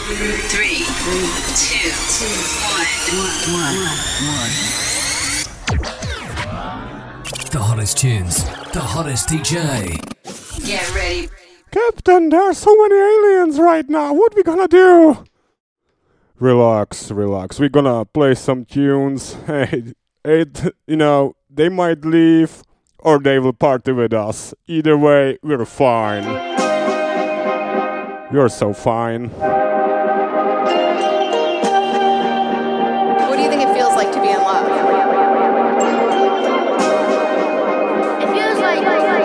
3, 2, 1. The hottest tunes, the hottest DJ. Get ready. Captain, there are so many aliens right now. What we gonna do? Relax. We're gonna play some tunes. Hey, they might leave or they will party with us. Either way, we're fine. You're so fine. What do you think it feels like to be in love? It feels like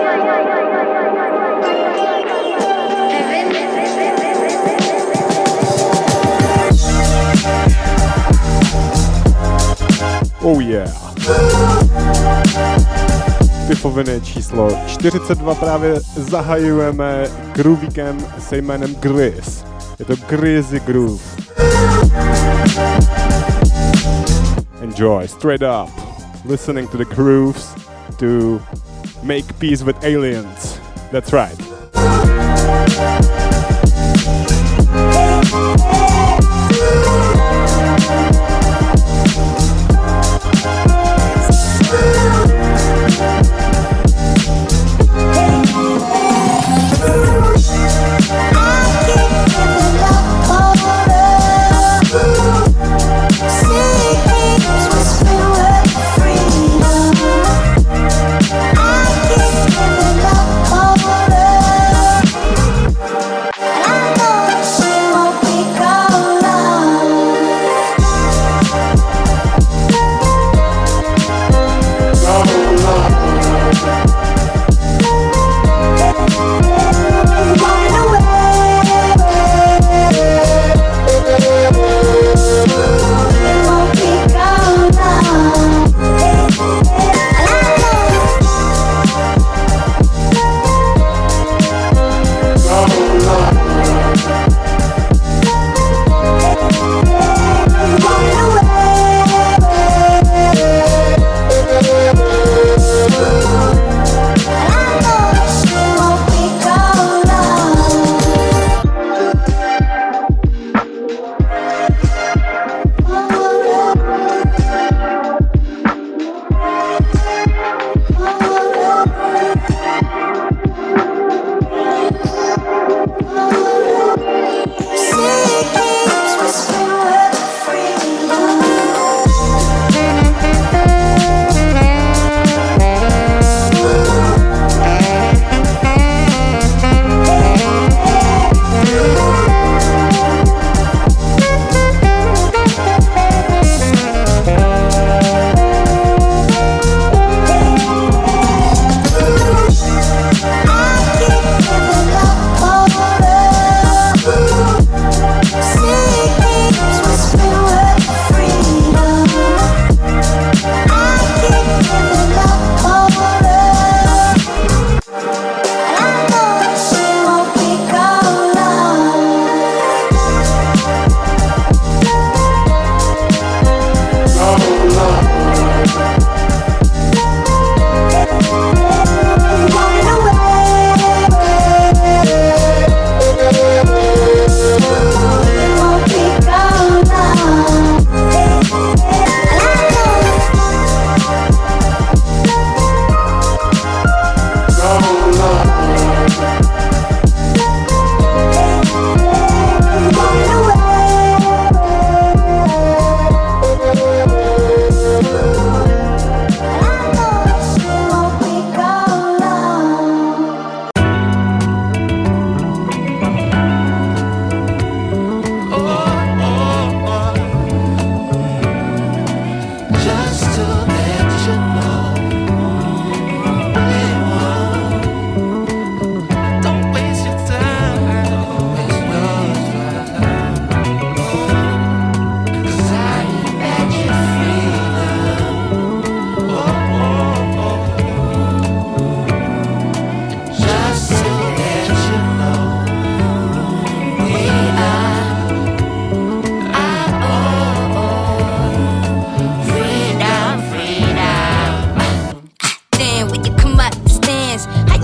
Oh yeah. Typovené číslo 42 právě zahajujeme groovíkem se jménem Grizz. Je to Grizzy Groove. Enjoy, straight up. Listening to the grooves to make peace with aliens. That's right.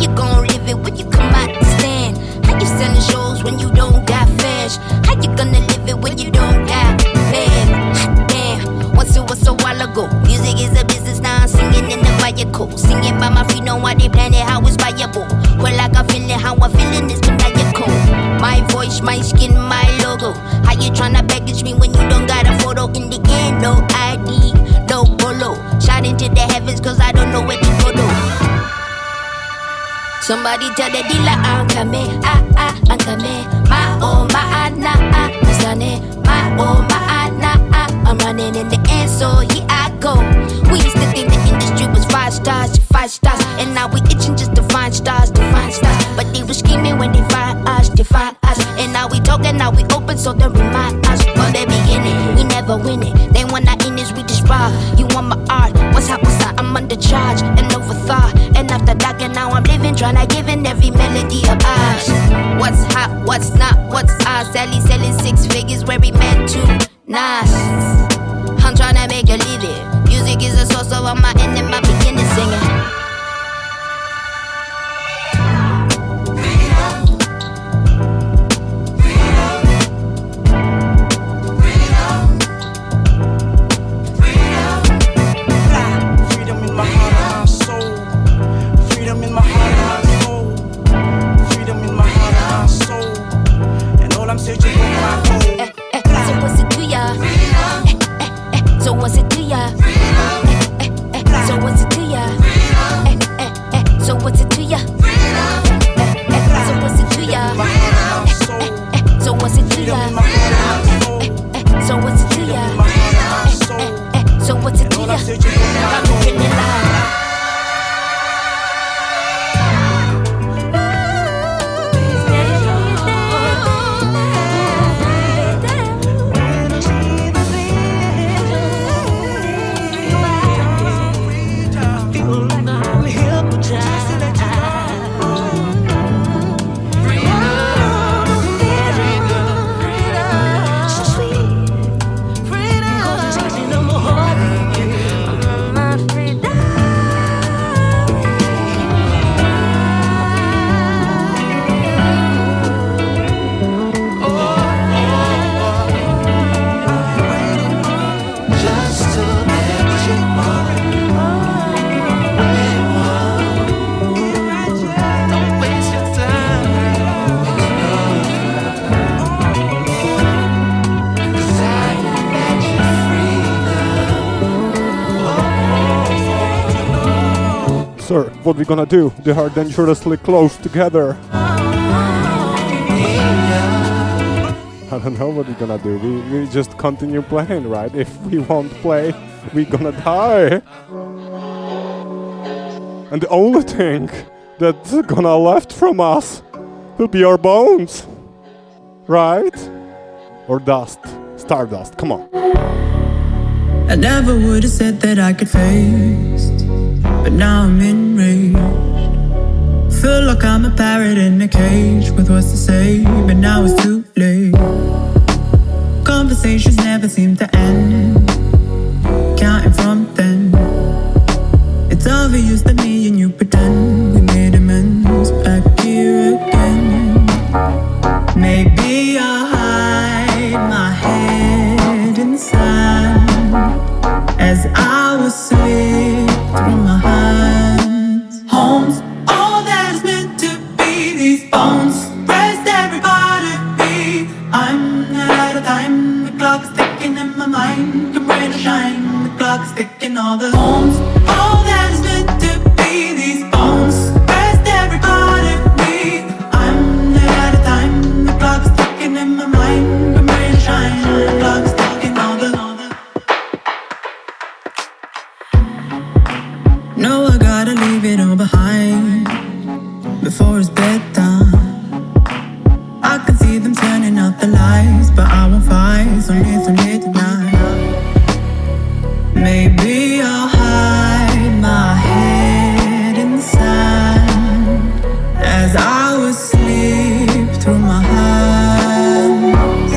when you don't got fans? How you gonna live Somebody tell the dealer I'm coming, I'm coming. My oh my nah, my oh my nah, I'm running in the end, so here I go. We used to think the industry was 5 stars, and now we itching just to find stars, But they were scheming when they find us, and now we talking, now we open, so they remind us from the beginning. We never win it. Then when I in this, we just rob. You want my art? What's up? I'm under charge and overthought. And after dark, and now I'm living, tryna give in every melody of ours. What's hot? What's not? What's ours? Sally selling 6 figures where we meant to. Nice. I'm tryna make a living. Music is a source, so I'm out in my beginning singing. Sir, what we gonna do? They are dangerously close together. I don't know what we're gonna do. We just continue playing, right? If we won't play, we're gonna die. And the only thing that's gonna left from us will be our bones. Right? Or dust. Stardust. Come on. I never would have said that I could face, but now I'm enraged. Feel like I'm a parrot in a cage with what's to say, but now it's too late. Conversations never seem to end. Counting from then, it's obvious that me and you pretend we made amends. Back here again. Maybe I'll hide my head inside as I was slipped through my hands. Home's all that is meant to be. These bones rest every part of me. I'm not out of time. The clock's ticking in my mind. Come rain or shine. The clock's ticking. All the homes, all that is meant to be. These bones rest every part of me. I'm not out of time. The clock's ticking in my mind. Come rain or shine. The clock's ticking. All the no, I gotta leave it all behind before it's bedtime. I can see them turning out the lights, but I won't fight, so late tonight. Maybe I'll hide my head inside as I was asleep through my hands.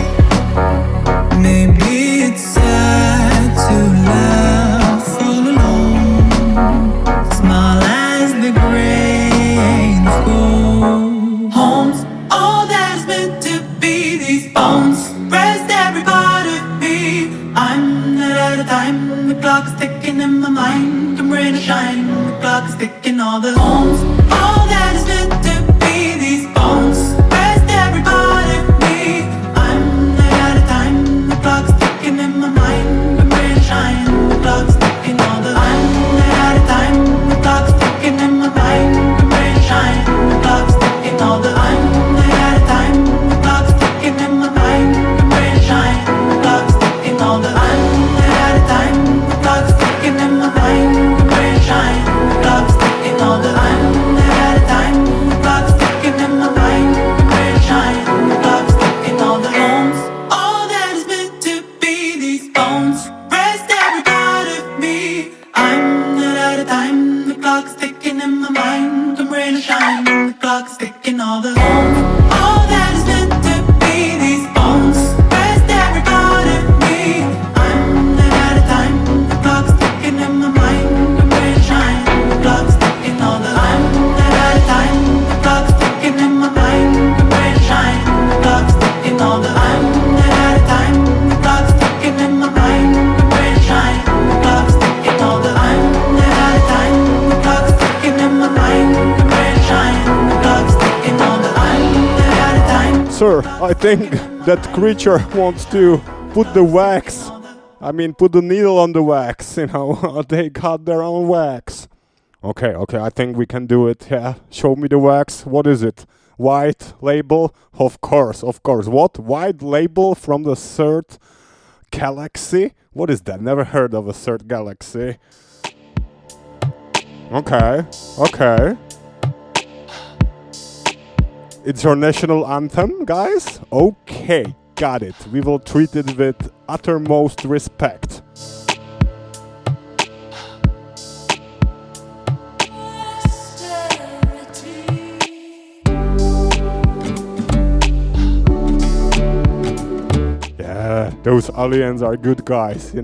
Maybe it's sad to laugh all alone, smile as the grains go. Home's all that is meant to be. These bones rest every part of me. I'm not out of time. The clock's ticking in my mind. Come rain or shine. The clock's ticking. All the homes, all that is meant to be. These bones rest every part of me. I'm not out of time. The clock's ticking in my mind. Come rain or shine. The clock's ticking. All the I'm not out of time. The clock's ticking in my mind. Come rain or shine. Sir, I think that creature wants to put the wax. Put the needle on the wax, They got their own wax. Okay, I think we can do it, yeah. Show me the wax. What is it? White label? Of course. What? White label from the third galaxy? What is that? Never heard of a third galaxy. Okay. It's your national anthem, guys? Okay, got it. We will treat it with uttermost respect. Yeah, those aliens are good guys,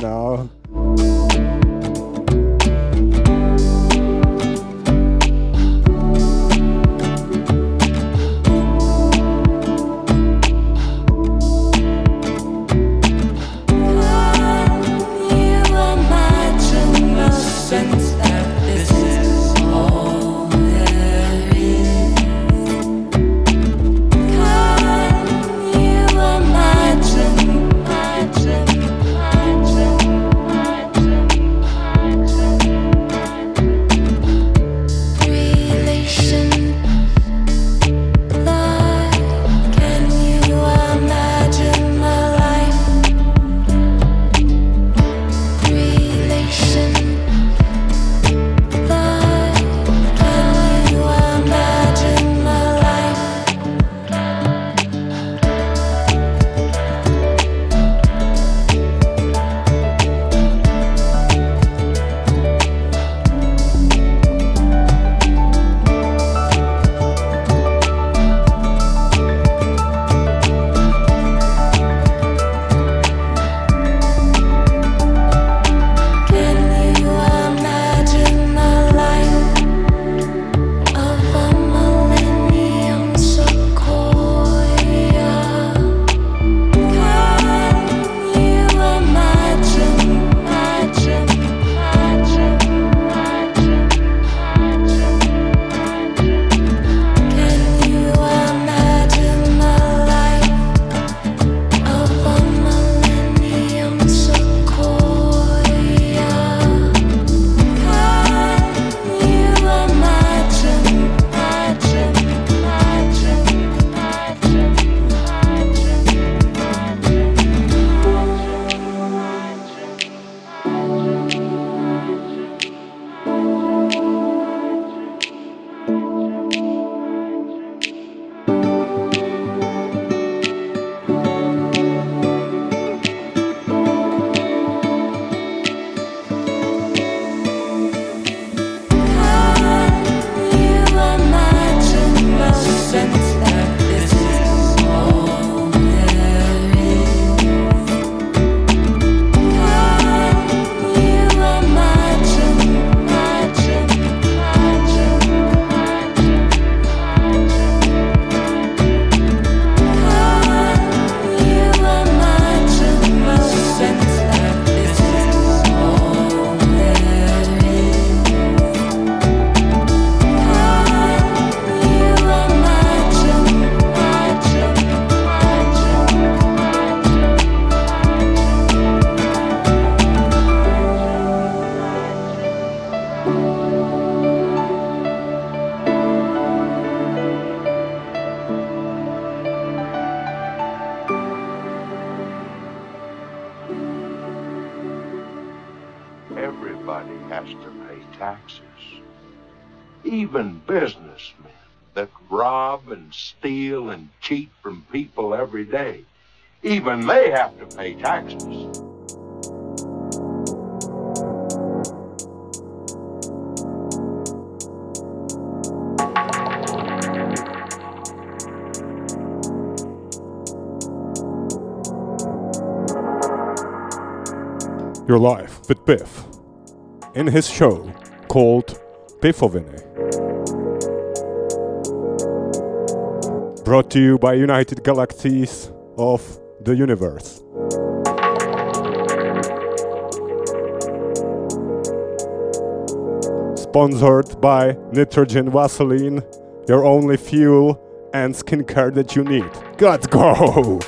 Everybody has to pay taxes. Even businessmen that rob and steal and cheat from people every day. Even they have to pay taxes. Your Life with Biff in his show called Biffoviny. Brought to you by United Galaxies of the Universe. Sponsored by Nitrogen Vaseline, your only fuel and skincare that you need. Let's go!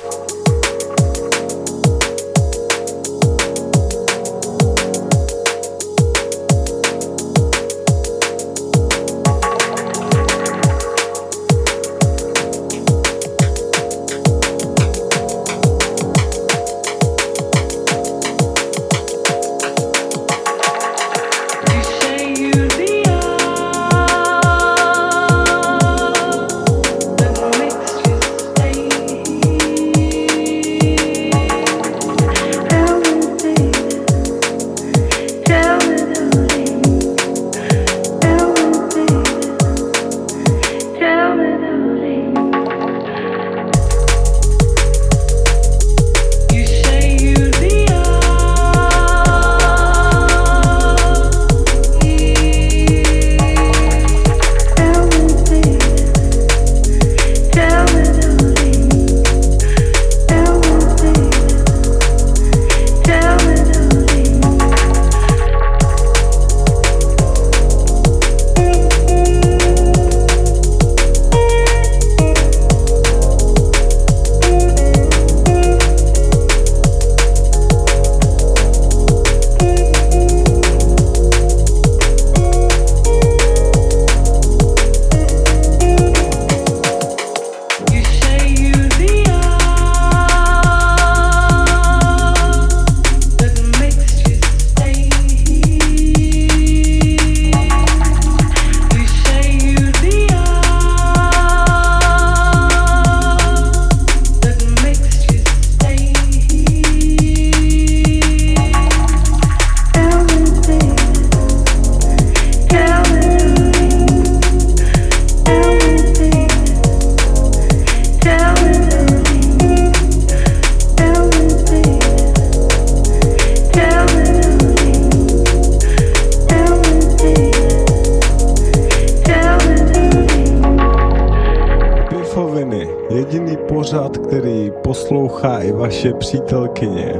Pořad, který poslouchá i vaše přítelkyně.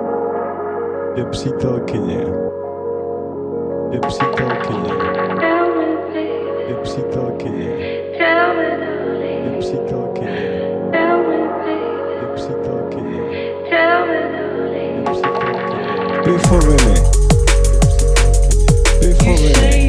Je přítelkyně. Je přítelkyně. Je přítelkyně. Je přítelkyně. Je přítelkyně. Je přítelkyně. Pifoviny. Pifoviny.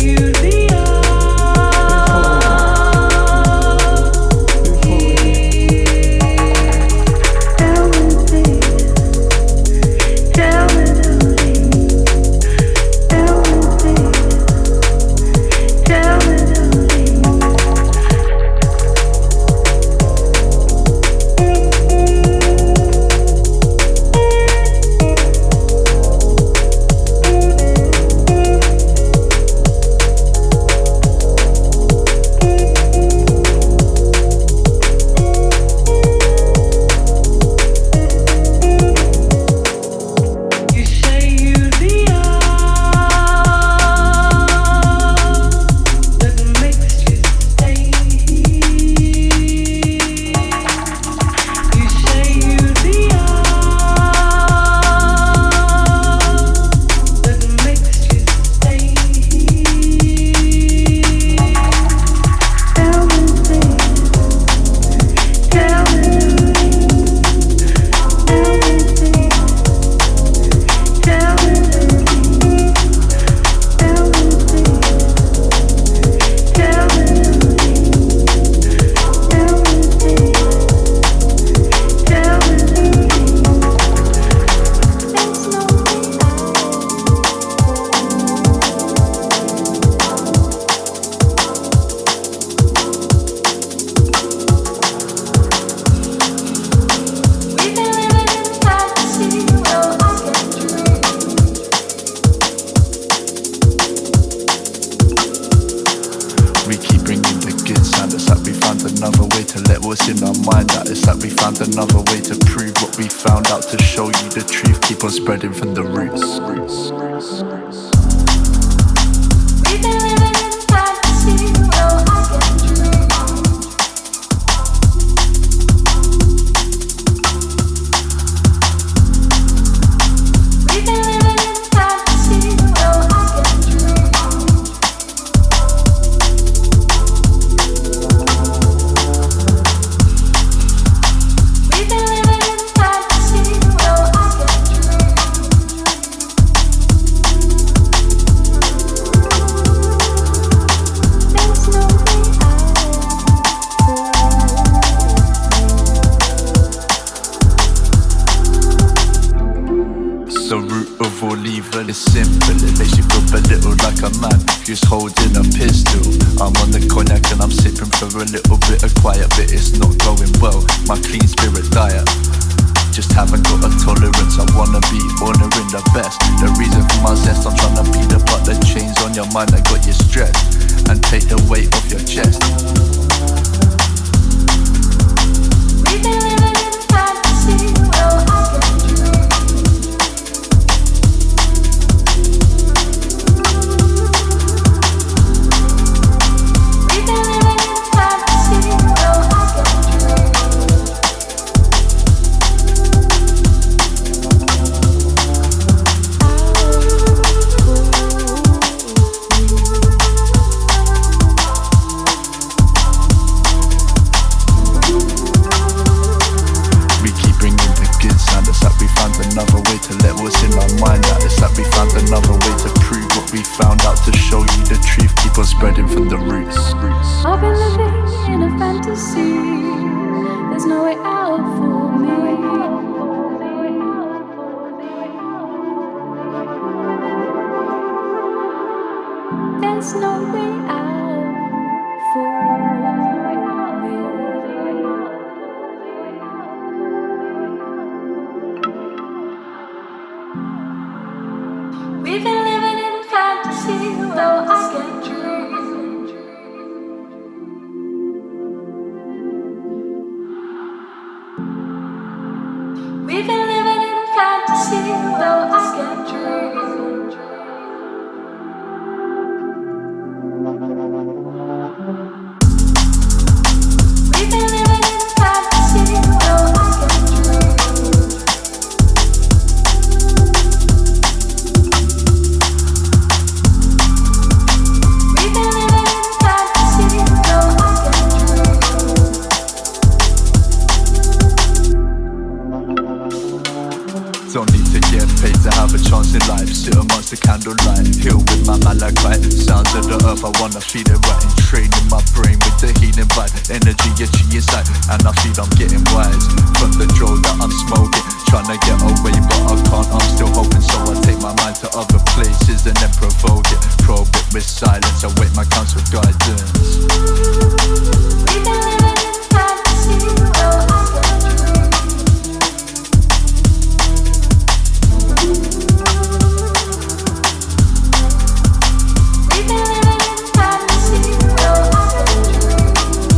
Spreading from the roots. of all evil is simple. It makes you feel belittled like a man who's holding a pistol. I'm on the cognac and I'm sipping for a little bit of quiet, but it's not going well. My clean spirit diet, just haven't got a tolerance. I wanna be honouring the best. The reason for my zest, I'm trying to beat apart the chains on your mind that got you stressed, and take the weight off your chest. We've been living in fantasy, well I can dream. We've been living in fantasy, well I can dream. Another way to let what's in my mind out. It's like we found another way to prove what we found out. To show you the truth, keep on spreading from the roots. I've been living in a fantasy. There's no way out for me. There's no way out for me. We've been living in fantasy, though I can dream. We've been living in fantasy, though I can dream. We've been living in fantasy, though I can dream. Don't need to get paid to have a chance in life. Sit amongst the candlelight, heal with my malachite. Sounds of the earth, I wanna feel it right. And training my brain with the healing vibe. Energy itchy inside, and I feel I'm getting wise. From the drill that I'm smoking, trying to get away but I can't, I'm still hoping. So I take my mind to other places and then provoke it. Probe it with silence, I wait my counsel guidance. We've been living in fantasy, well I can dream. We've been living in fantasy, well I can dream.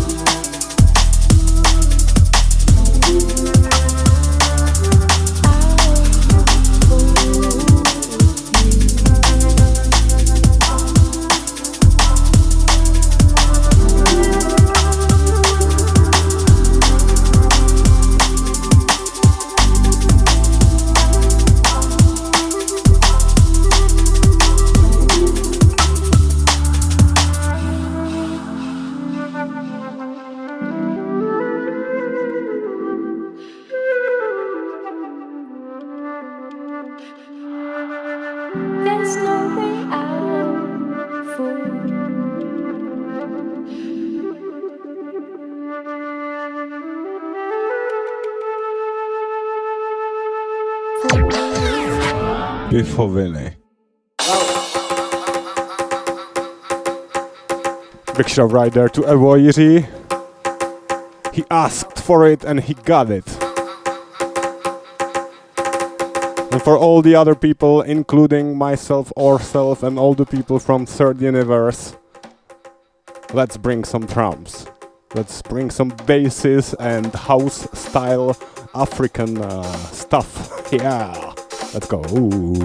There's no way out for Pifoviny. Big shout right there to Avoiri. He asked for it and he got it. And for all the other people, including myself, ourselves, and all the people from Third Universe, let's bring some drums. Let's bring some basses and house-style African stuff. Yeah, let's go. Ooh.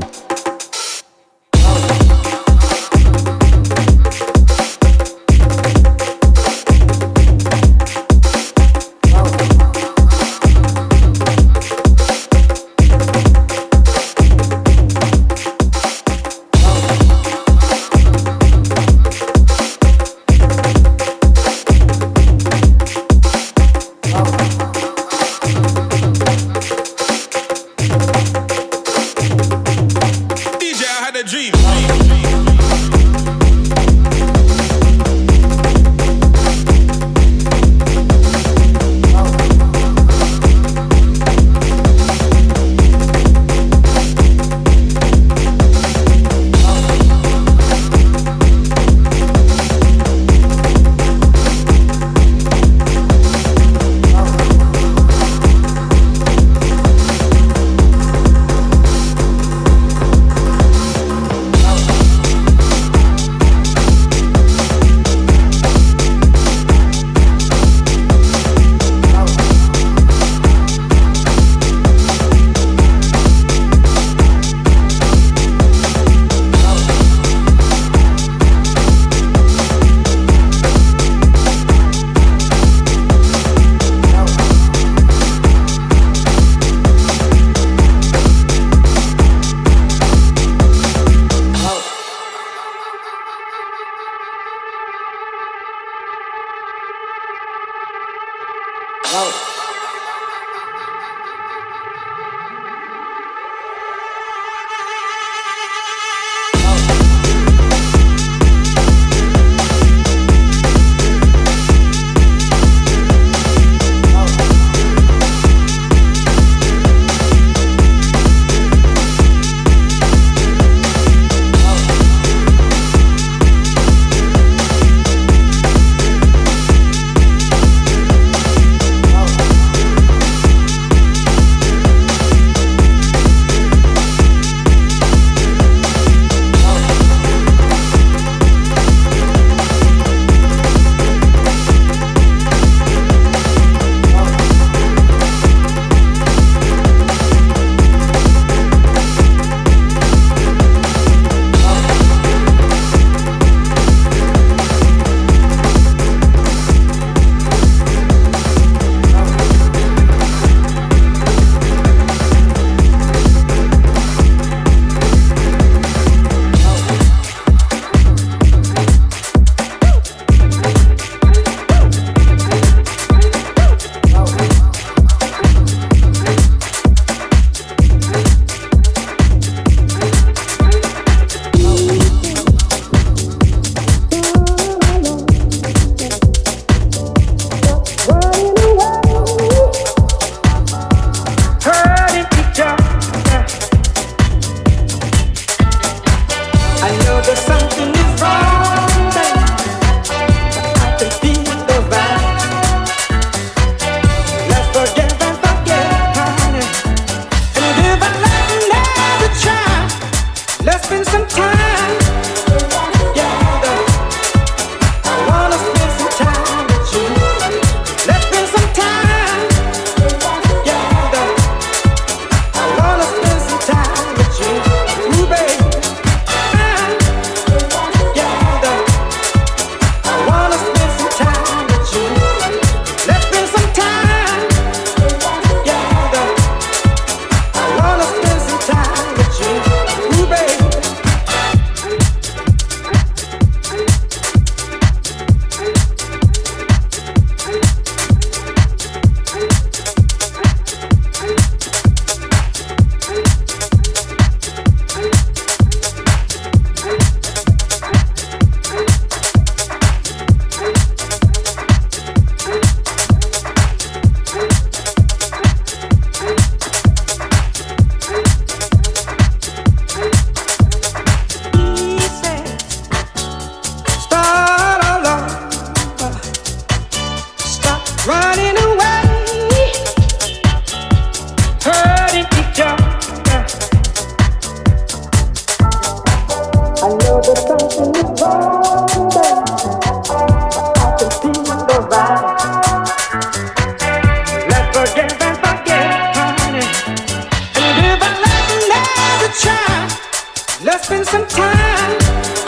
some time.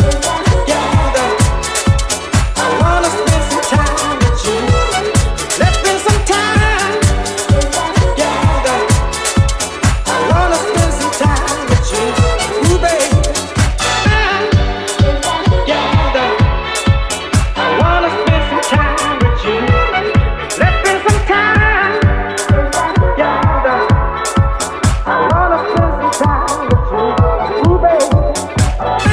I wanna spend some time with you. Let's spend some time. I wanna spend some time with you. Ooh, baby. I wanna spend some time with you. Let's spend some time. I wanna spend some time with you. Ooh, baby.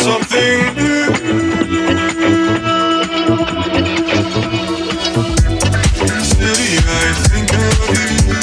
something new. City, I think of you.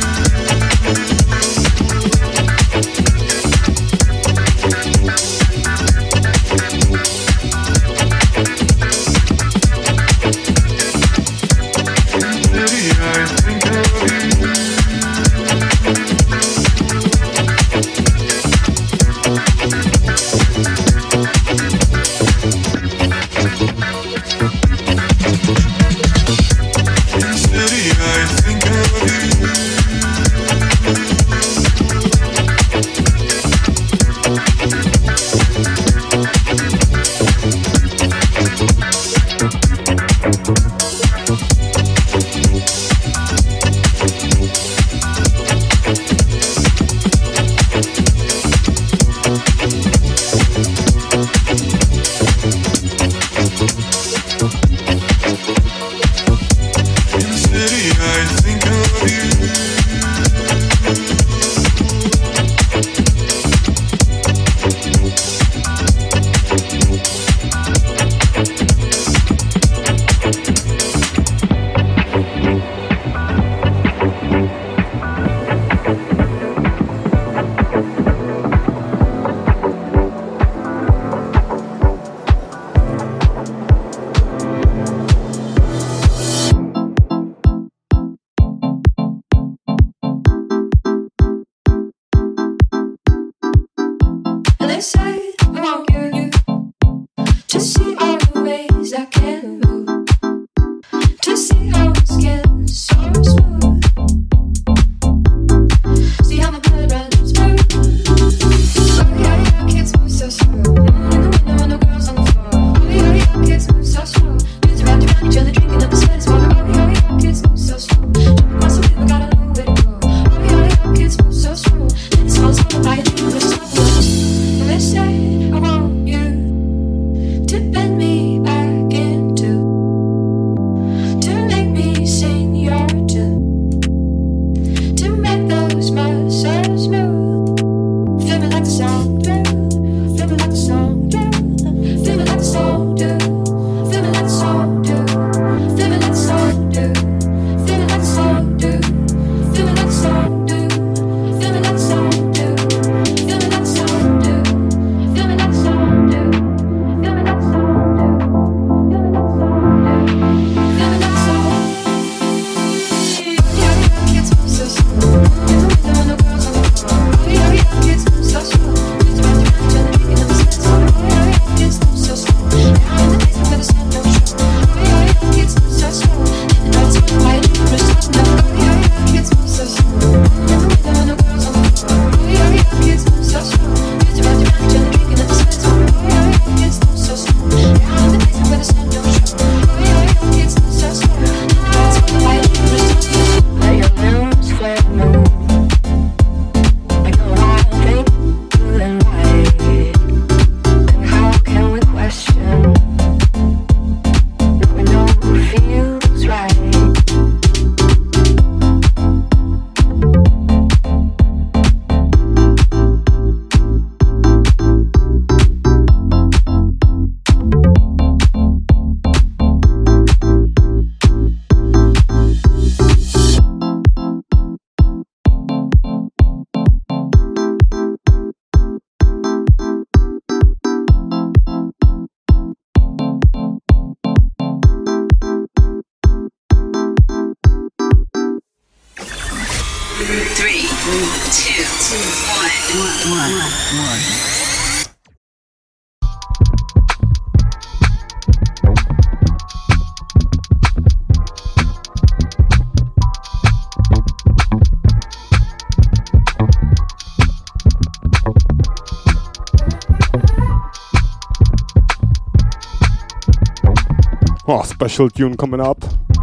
Oh, special tune coming up.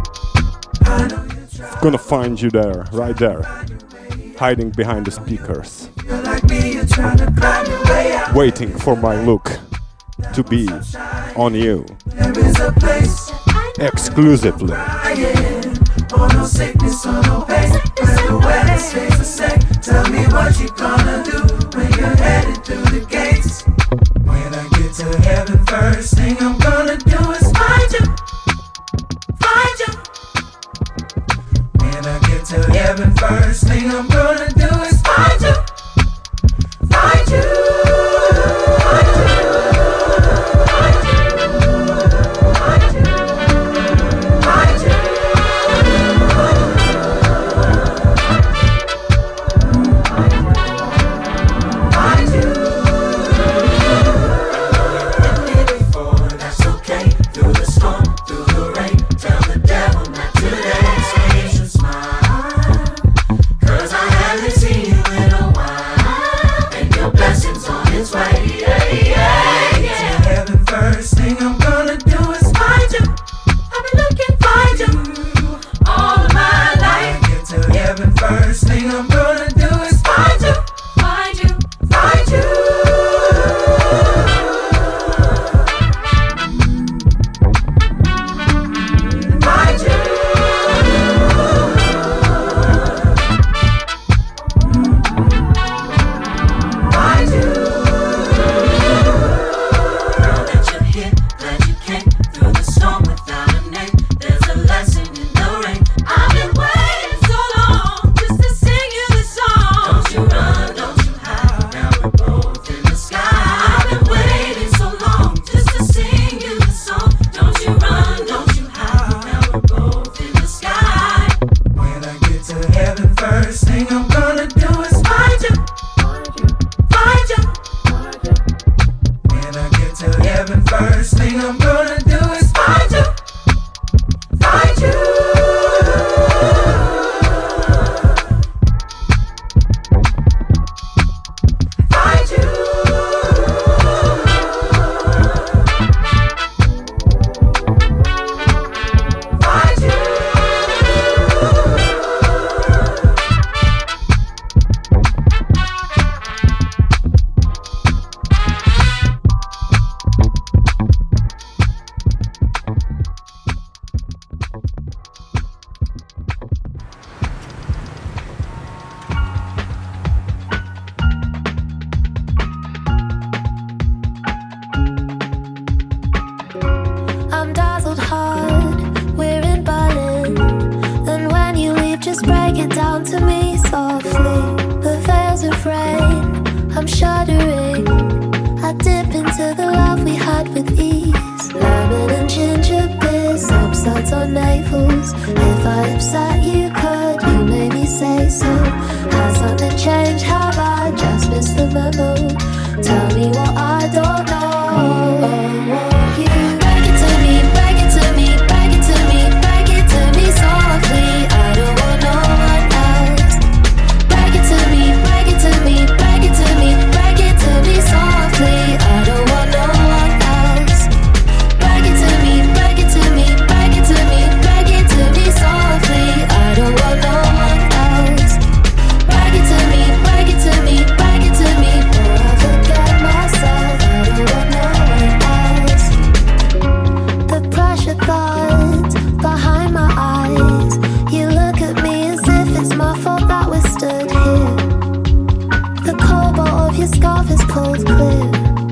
Gonna find you there, right there, hiding behind the speakers, waiting for my look to be on you, exclusively. No sickness or no pain. The weather stays the same. Tell me what you gonna do when you're headed through the gates. When I get I'm shuddering. I dip into the love we had with ease. Lemon and ginger beers, upsides on navels. If I upset you, could you maybe say so? Has something changed? Have I just missed the memo? Tell me what I don't know. You break it to me, break it to me, break it to me, break it to me softly. I don't want no one else. Break it to me, break it to me, break it to me, break it to me softly. I don't want no one else. Break it to me, break it to me, break it to me, break it to me softly. I don't want no one else. Break it to me, break it to me, break it to me, or I forget myself. I don't want no one else. The pressure thoughts behind my eyes. You look at me as if it's my fault that we're stood here. The cobalt of your scarf is pulled clear.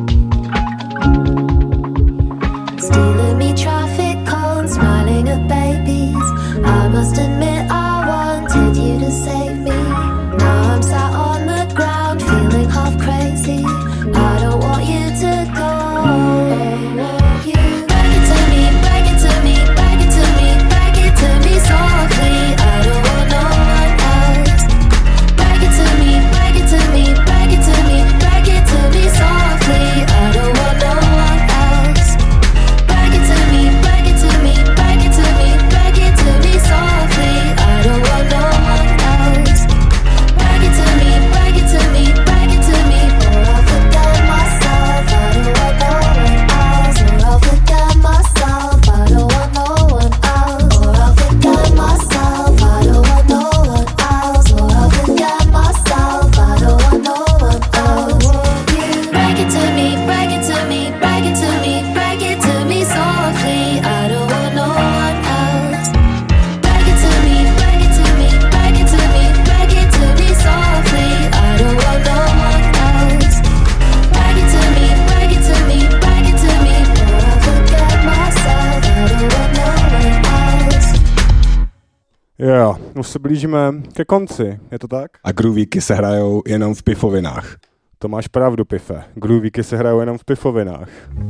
Stealing me traffic cones, smiling at babies. I must admit I wanted you to save me. Now I'm sat on the ground, feeling half crazy. I don't want you to go. You break it to me, break it to me, break it to me, break it to me softly. I don't want no one else. Break it to me, break it to me, break it to me, break it to me softly. I don't want no one else. Break it to me, break it to me, break it to me, break it to me softly. I don't want no one else. Break it to me, break it to me, break it to me, or I'll forget myself. I don't want no one else. Or I'll forget myself. I don't want no one else. Or I'll forget myself. I don't want no one else. Or I'll forget myself. I don't want no one else. You break it to me, break it to me, break it to me, break it to me softly. I don't want no one else. Break it to me, break it to me, break it to me, break it to me softly. I don't want no one else. Break it to me, break it to me, break it to me, or I'll forget myself. I don't want no one else. Jo, už se blížíme ke konci, je to tak? A groovíky se hrajou jenom v pifovinách. To máš pravdu, Pife. Groovíky se hrajou jenom v pifovinách.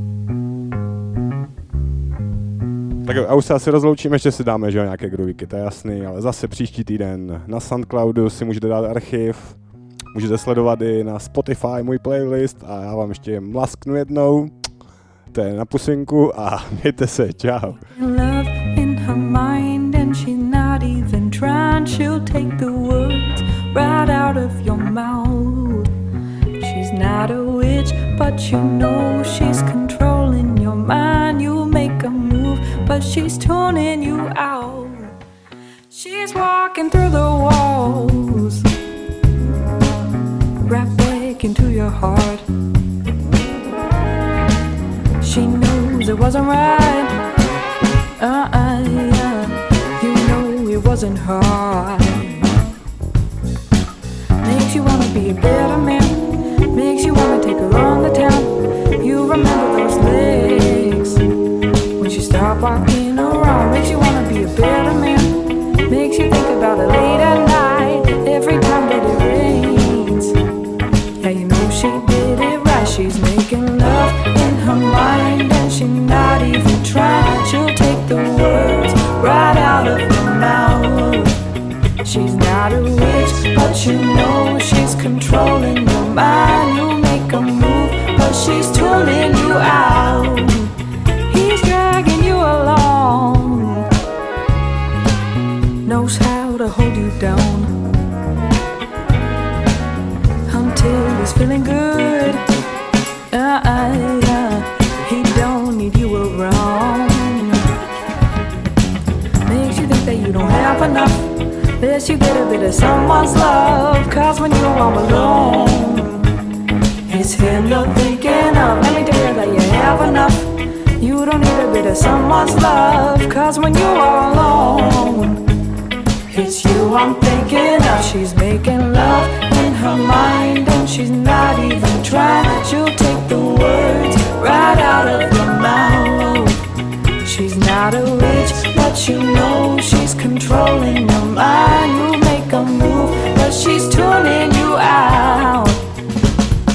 Tak a už se asi rozloučíme, ještě si dáme, že jo, nějaké groovíky, to je jasný, ale zase příští týden na Soundcloudu si můžete dát archiv, můžete sledovat i na Spotify můj playlist a já vám ještě mlasknu jednou. To je na pusinku a mějte se, čau. Love in her mind and she's not even trying. She'll take the words right out of your mouth. She's not a witch, but you know she's controlling your mind. You make a move, but she's tuning you out. She's walking through the walls, right back into your heart. She knows it wasn't right. Yeah. You know it wasn't hard. Makes you wanna be a better man. Makes you wanna take her on the town. You remember those legs when she stopped walking around. Makes you wanna be a better man. Makes you think about it late at night. Every time that it rains. Yeah, you know she did it right. She's making love in her mind and she's not even trying. She'll take the words right out of her mouth. She's not a witch, but you know she's controlling your mind. You make a move, but she's tuning you out. He's dragging you along, knows how to hold you down until he's feeling good. He don't need you around. Makes you think that you don't have enough. Lets you get a bit of someone's love. Cause when you're all alone, it's him you're thinking of. Let me tell you that you have enough. You don't need a bit of someone's love. Cause when you're all alone, it's you I'm thinking of. She's making love in her mind and she's not even trying. She'll take the words right out of your mouth. She's not a witch, but you know she's controlling your mind. You make a move, but she's tuning you out.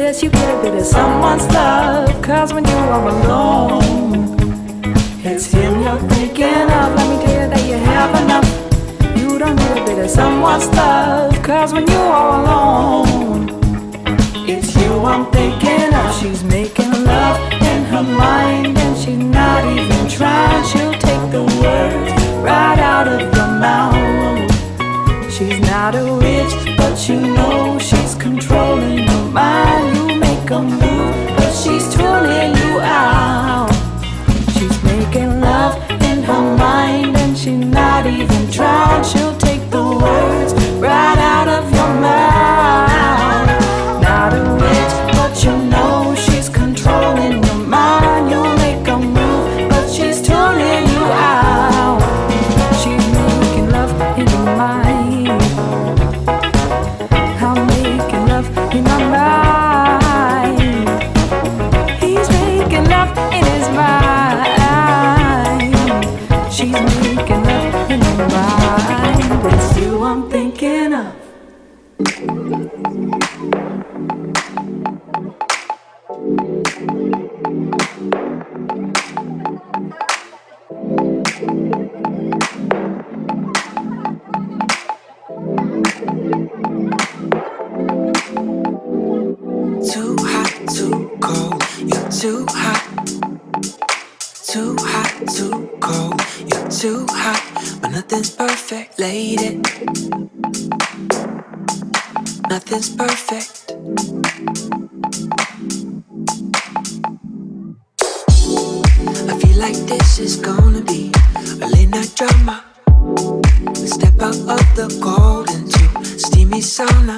Yes, you get a bit of someone's love, 'cause when you are alone, it's him you're thinking of. Let me tell you that you have enough. You don't need a bit of someone's love, 'cause when you are alone, it's you I'm thinking of. She's making love in her mind, and she's not even trying. She'll take the words right out of your mouth. She's not a witch, but you know she's controlling your mind. You make a move, but she's tuning you out. She's making love in her mind, and she's not even trying. She'll take the words right out of your mouth. Not a witch, but you know she's controlling your mind. You make a move, but she's tuning you out. She's making love in your mind. I'm making love in my mind. He's making love in his mind. She's making love in her mind. It's you I'm thinking of. Too hot, too cold, you're too hot. Too hot, too cold, you're too hot. But nothing's perfect, lady. Nothing's perfect. I feel like this is gonna be a late night drama. We step out of the cold into steamy sauna.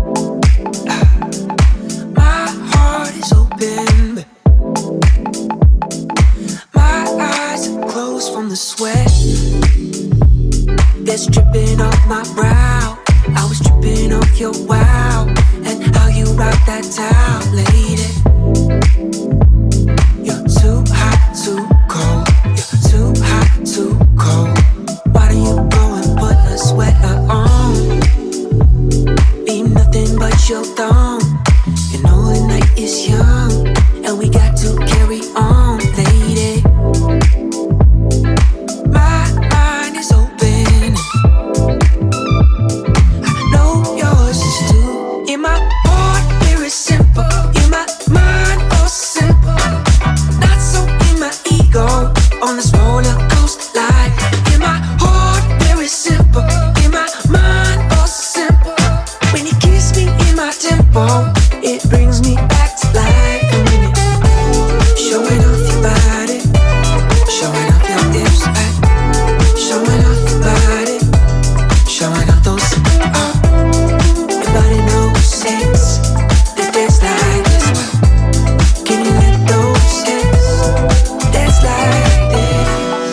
My heart is open, but my eyes are closed from the sweat that's dripping off my brow. I was dripping off your wow, and how you rock that towel, lady. You're too hot, too cold. You're too hot, too cold. Why don't you go and put a sweater on? Be nothing but your thumb. You know the night is young, and we got to carry on, lady. My mind is open. I know yours is too. In my heart, very simple. In my mind, all simple. Not so in my ego, on this roller coaster life. In my heart, very simple. In my mind, all simple. When you kiss me in my tempo, it brings me back to life. And when you're showing off your body, showing off your hips, showing off your body, showing off those. Your body knows sex, that dance like this. Can you let those hips dance like this?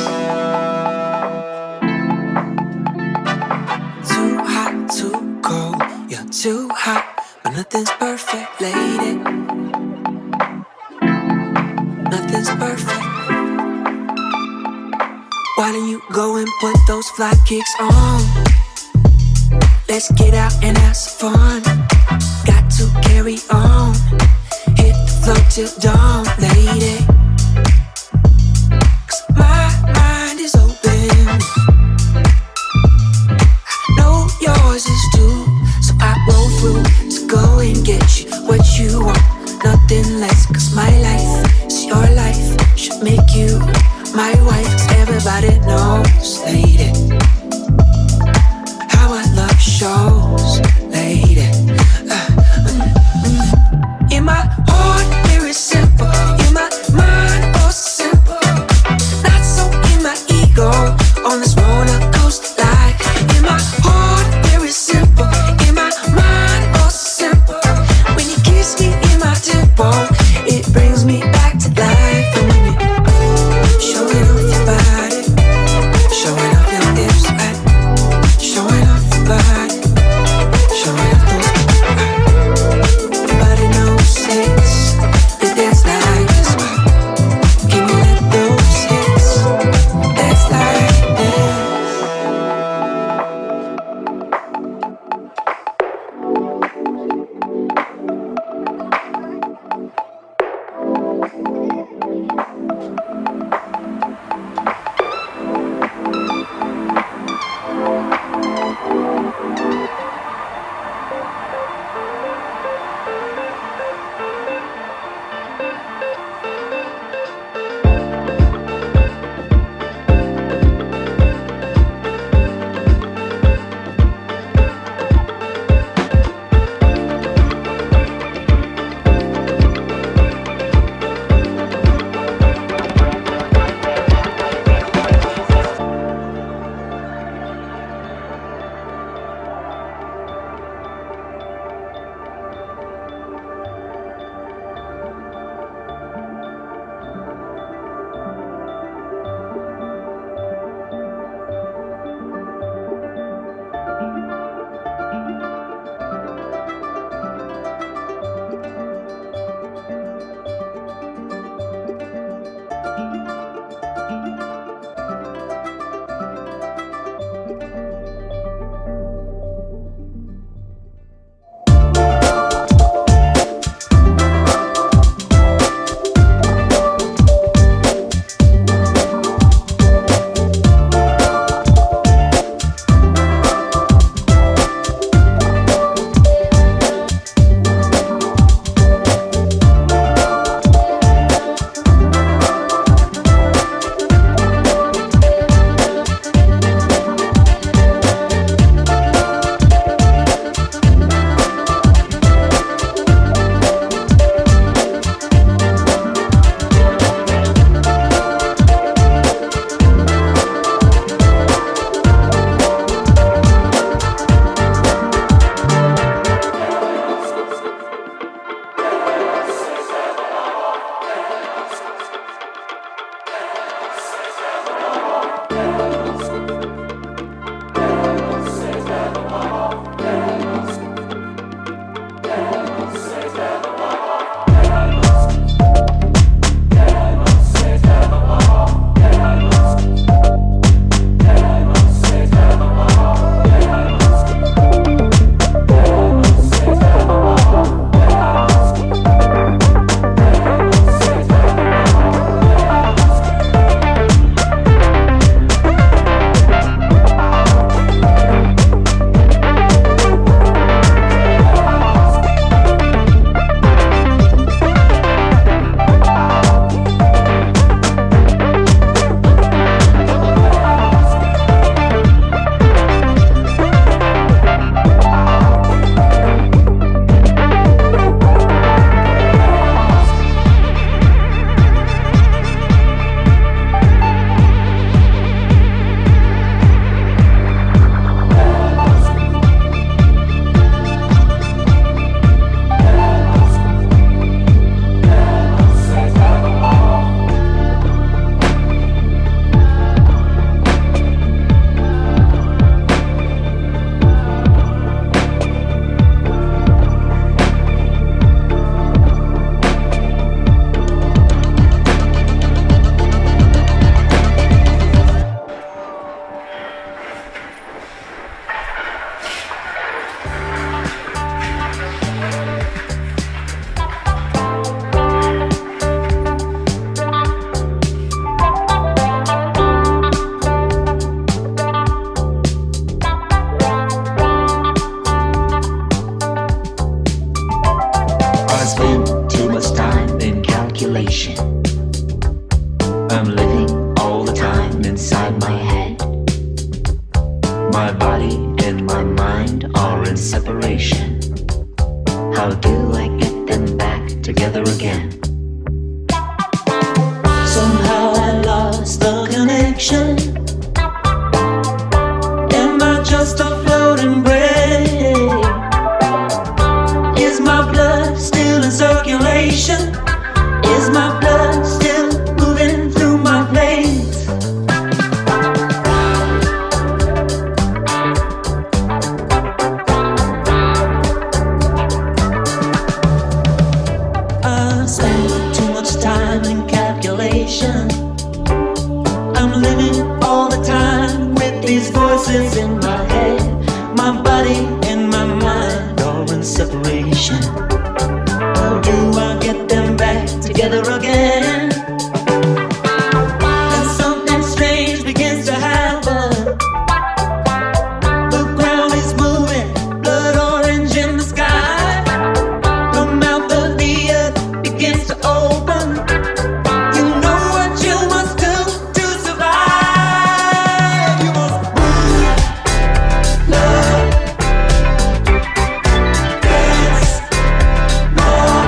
Too hot, too cold, you're too hot. But nothing's perfect, lady. Nothing's perfect. Why don't you go and put those fly kicks on? Let's get out and have some fun. Got to carry on. Hit the floor till dawn, lady. 'Cause my mind is open. I know yours is too. So I roll through to go and get you what you want. Nothing less, 'cause my life is your life. Should make you my wife, 'cause everybody knows, lady, how I love shows, lady. In my heart, very simple. In my mind, all simple. Not so in my ego, on this roller coaster life. In my heart, very simple. In my mind, all simple. When you kiss me in my tempo, it brings me back to life. And when you're showing off your body, showing off I'm living all the time inside my head. My body and my mind are in separation. How do I get them back together again? Somehow I lost the connection. Am I just a floating brain? Is my blood still in circulation? Is my blood still moving through my veins? I spend too much time in calculation. I'm living all the time with these voices in my head. My body and my mind are in separation. How do I get them back together again? And something strange begins to happen. The ground is moving, blood orange in the sky. The mouth of the earth begins to open. You know what you must do to survive. You must move, love, dance, more.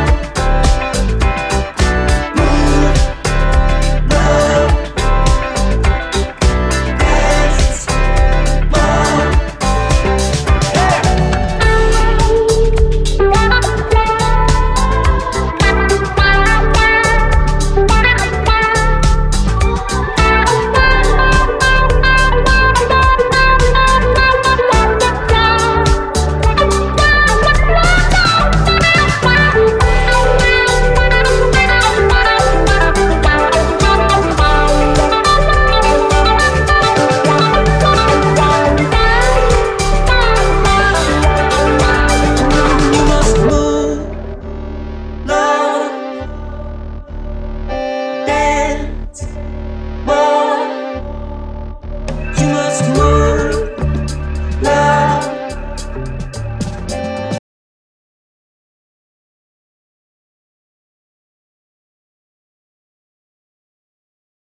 You must move.